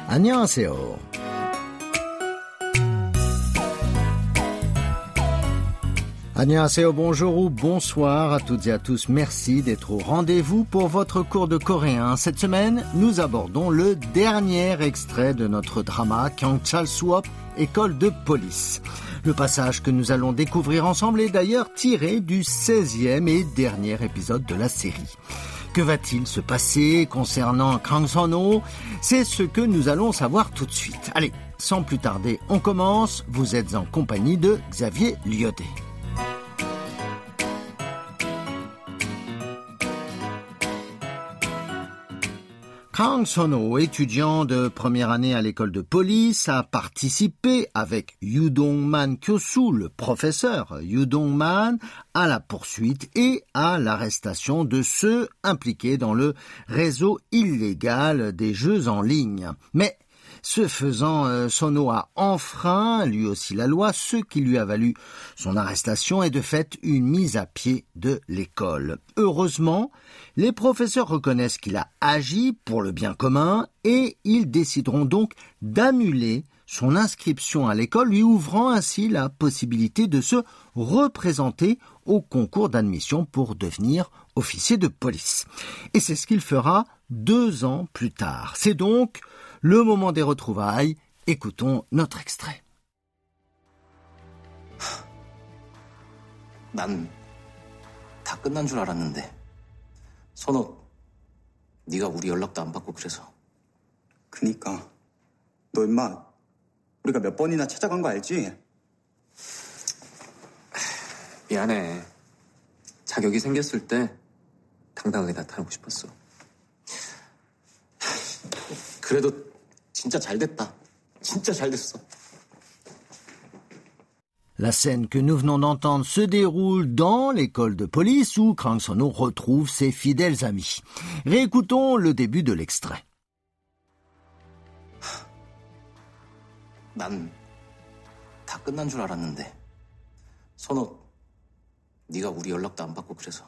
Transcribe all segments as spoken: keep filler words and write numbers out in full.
안녕하세요. Annyeonghaseyo, bonjour ou bonsoir à toutes et à tous. Merci d'être au rendez-vous pour votre cours de coréen. Cette semaine, nous abordons le dernier extrait de notre drama Kyangchal Suop, école de police. Le passage que nous allons découvrir ensemble est d'ailleurs tiré du seizième et dernier épisode de la série. Que va-t-il se passer concernant Kang Sun-ho? C'est ce que nous allons savoir tout de suite. Allez, sans plus tarder, on commence. Vous êtes en compagnie de Xavier Lyoté. Kang Sun-ho, étudiant de première année à l'école de police, a participé avec Yoo Dong-man Kyosu, le professeur Yoo Dong-man, à la poursuite et à l'arrestation de ceux impliqués dans le réseau illégal des jeux en ligne. Mais ce faisant, euh, Sun-ho a enfreint lui aussi la loi, ce qui lui a valu son arrestation et de fait une mise à pied de l'école. Heureusement, les professeurs reconnaissent qu'il a agi pour le bien commun et ils décideront donc d'annuler son inscription à l'école, lui ouvrant ainsi la possibilité de se représenter au concours d'admission pour devenir officier de police. Et c'est ce qu'il fera deux ans plus tard. C'est donc le moment des retrouvailles. Écoutons notre extrait. 난 다 끝난 줄 알았는데 선호, 네가 우리 연락도 안 받고 그래서. 그니까 너 임마 우리가 몇 번이나 찾아간 거 알지? 미안해. 자격이 생겼을 때 당당하게 나타나고 싶었어. 그래도 진짜 잘 됐다. 진짜 잘 됐어. La scène que nous venons d'entendre se déroule dans l'école de police où Kang Sun-ho retrouve ses fidèles amis. Réécoutons le début de l'extrait. 난 다 끝난 줄 알았는데 선호, 네가 우리 연락도 안 받고 그래서.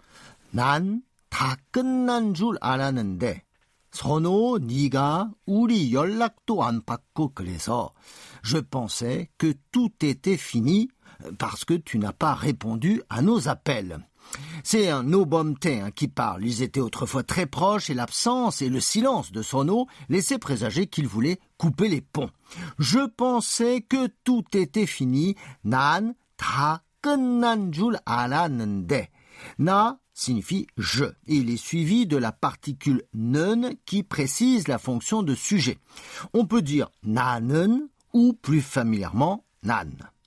난 다 끝난 줄 알았는데 선호, 네가 우리 연락도 안 받고 그래서 je pensais que tout était fini parce que tu n'as pas répondu à nos appels. C'est un No Bomte hein, qui parle. Ils étaient autrefois très proches et l'absence et le silence de Sun-ho laissaient présager qu'il voulait couper les ponts. Je pensais que tout était fini. 난 다 끝난 줄 알았는데. 나 signifie je. Et il est suivi de la particule 는 qui précise la fonction de sujet. On peut dire 나는 ou plus familièrement 난.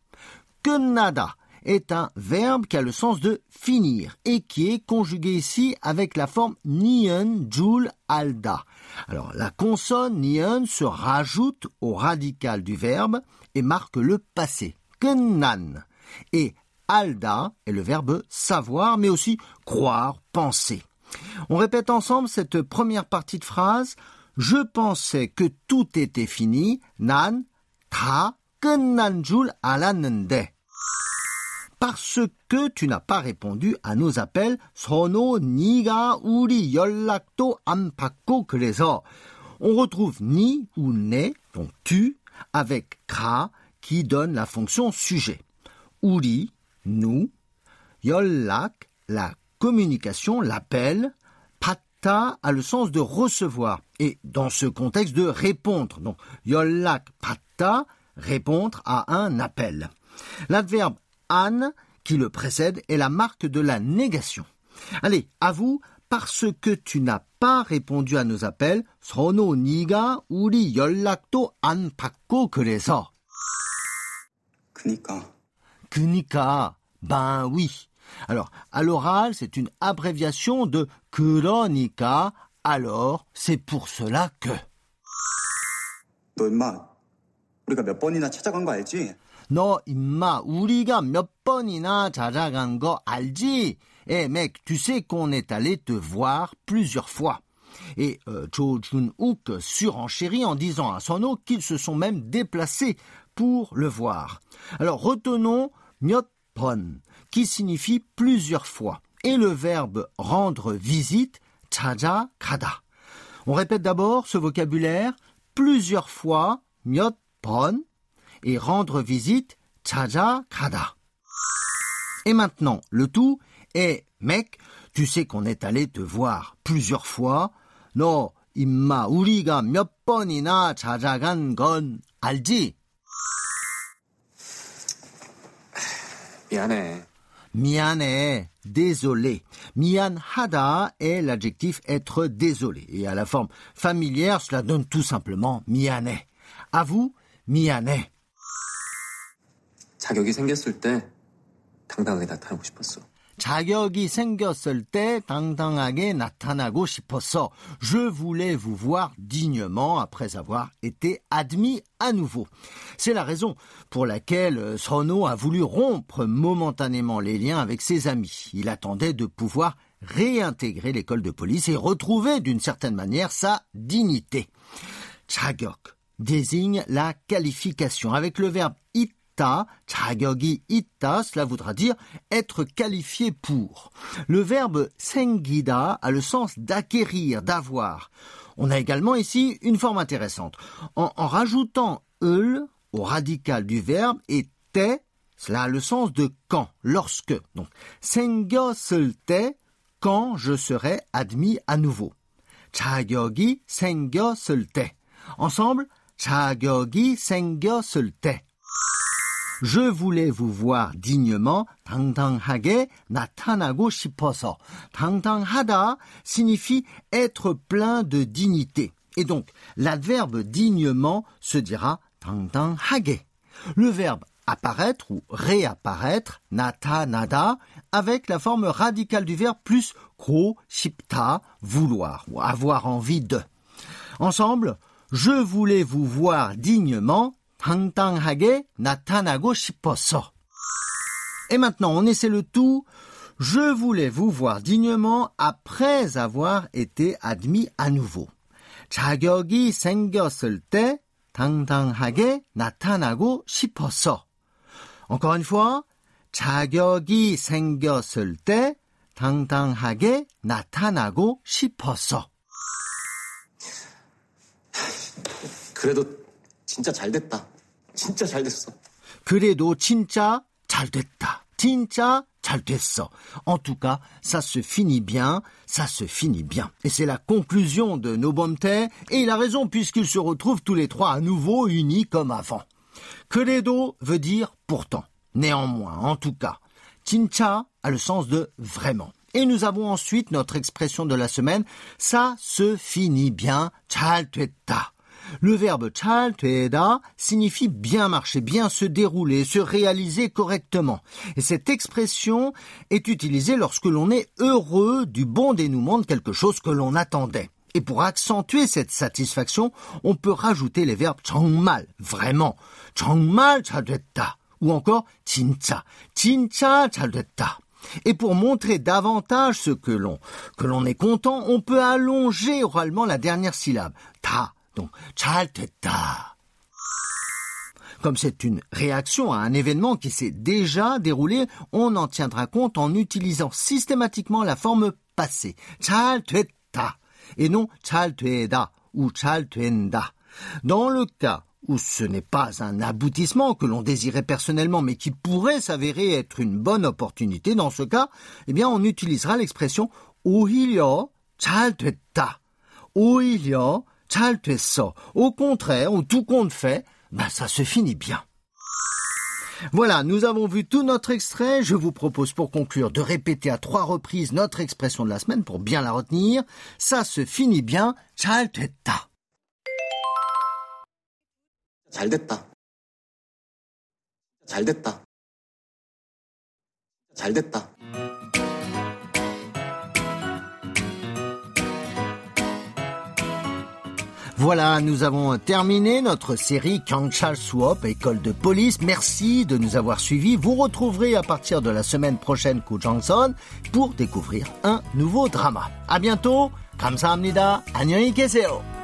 끝나다 est un verbe qui a le sens de finir et qui est conjugué ici avec la forme 니은 줄 알다. Alors la consonne 니은 se rajoute au radical du verbe et marque le passé. 끝난. Et 알다 est le verbe savoir, mais aussi croire, penser. On répète ensemble cette première partie de phrase. Je pensais que tout était fini. 난 다 끝난 줄 알았는데. Parce que tu n'as pas répondu à nos appels, 선호, 네가 우리 연락도 안 받고 그래서. On retrouve ni ou ne, donc tu, avec 가 qui donne la fonction sujet. 우리, nous, 연락, la communication, l'appel, 받다 a le sens de recevoir et dans ce contexte de répondre. Donc 연락 받다, répondre à un appel. L'adverbe 안 qui le précède est la marque de la négation. Allez, à vous, parce que tu n'as pas répondu à nos appels, 선호, 네가 우리 연락도 안 받고 그래서. 그니까. 그니까, ben oui. Alors, à l'oral, c'est une abréviation de 그러니까, alors, c'est pour cela que. 너 임마 우리가 몇 번이나 찾아간 거 알지? 너 임마 우리가 몇 번이나 찾아간 거 알지? Eh mec, tu sais qu'on est allé te voir plusieurs fois. Et euh, Cho Jun-wook surenchérit en disant à Sun-ho qu'ils se sont même déplacés pour le voir. Alors retenons 몇 번, qui signifie plusieurs fois, et le verbe rendre visite, 찾아가다. On répète d'abord ce vocabulaire, plusieurs fois, 몇 번, et rendre visite, 찾아가다. Et maintenant, le tout est, mec, tu sais qu'on est allé te voir plusieurs fois. 너, 임마, 우리가 몇 번이나 찾아간 건 알지? 미안해. 미안해, désolé. 미안하다 est l'adjectif être désolé. Et à la forme familière, cela donne tout simplement 미안해. À vous, 미안해. 자격이 생겼을 때 당당하게 나타나고 싶었어. 자격이 생겼을 때 당당하게 나타나고 싶었어. Je voulais vous voir dignement après avoir été admis à nouveau. C'est la raison pour laquelle Sono a voulu rompre momentanément les liens avec ses amis. Il attendait de pouvoir réintégrer l'école de police et retrouver d'une certaine manière sa dignité. 자격 désigne la qualification avec le verbe it. 자격이 있다, cela voudra dire être qualifié pour. Le verbe 생기다 a le sens d'acquérir, d'avoir. On a également ici une forme intéressante. En, en rajoutant 을 au radical du verbe et 때, cela a le sens de quand, lorsque. Donc, 생겼을 때, quand je serai admis à nouveau. 자격이 생겼을 때. Ensemble, 자격이 생겼을 때. Je voulais vous voir dignement, 당당하게 나타나고 싶어서. 당당하다 signifie être plein de dignité. Et donc, l'adverbe dignement se dira 당당하게. Le verbe apparaître ou réapparaître, 나타나다, avec la forme radicale du verbe plus 고 싶다, vouloir ou avoir envie de. Ensemble, je voulais vous voir dignement, 당당하게 나타나고 싶었어. Et maintenant, on essaie le tout. Je voulais vous voir dignement après avoir été admis à nouveau. 자격이 생겼을 때 당당하게 나타나고 싶었어. Encore une fois, 자격이 생겼을 때 당당하게 나타나고 싶었어. 그래도 진짜 잘 됐다. 진짜 잘 됐어. 그래도 진짜 잘 됐다. 진짜 잘 됐어. En tout cas, ça se finit bien, ça se finit bien. Et c'est la conclusion de nos Nobomte, et il a raison puisqu'ils se retrouvent tous les trois à nouveau unis comme avant. 그래도 veut dire pourtant, néanmoins, en tout cas. 진짜 a le sens de vraiment. Et nous avons ensuite notre expression de la semaine, ça se finit bien, 잘 됐다. Le verbe 잘 되다 signifie bien marcher, bien se dérouler, se réaliser correctement. Et cette expression est utilisée lorsque l'on est heureux du bon dénouement de quelque chose que l'on attendait. Et pour accentuer cette satisfaction, on peut rajouter les verbes 정말, vraiment, 정말 잘 됐다, ou encore 진짜, 진짜 잘 됐다. Et pour montrer davantage ce que l'on, que l'on est content, on peut allonger oralement la dernière syllabe, 다. Donc, 잘 됐다. Comme c'est une réaction à un événement qui s'est déjà déroulé, on en tiendra compte en utilisant systématiquement la forme passée. 잘 됐다. Et non 잘 되다 ou 잘 된다. Dans le cas où ce n'est pas un aboutissement que l'on désirait personnellement, mais qui pourrait s'avérer être une bonne opportunité, dans ce cas, eh bien, on utilisera l'expression 오히려 잘 됐다. 오히려 잘 됐어. Au contraire, ou tout compte fait, ben ça se finit bien. Voilà, nous avons vu tout notre extrait. Je vous propose pour conclure de répéter à trois reprises notre expression de la semaine pour bien la retenir. Ça se finit bien, 잘 됐다. 잘 됐다. 잘 됐다. 잘 됐다. Voilà, nous avons terminé notre série 경찰 수업, école de police. Merci de nous avoir suivis. Vous retrouverez à partir de la semaine prochaine 구정선 pour découvrir un nouveau drama. À bientôt. 감사합니다. 안녕히 계세요.